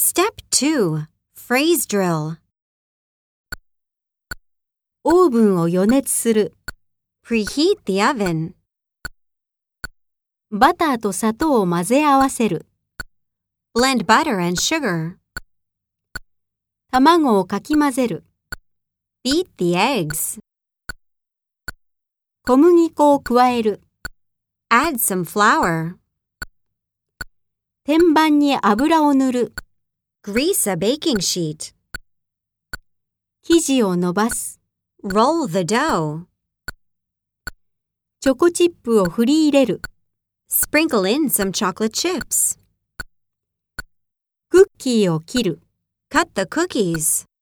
Step 2. Phrase drill. オーブンを予熱する。 Preheat the oven. バターと砂糖を混ぜ合わせる。 Blend butter and sugar. 卵をかき混ぜる。 Beat the eggs. 小麦粉を加える。 Add some flour. 天板に油を塗る。 Grease a baking sheet. 生地を伸ばす。 Roll the dough. チョコチップを振り入れる。 Sprinkle in some chocolate chips. クッキーを切る。 Cut the cookies.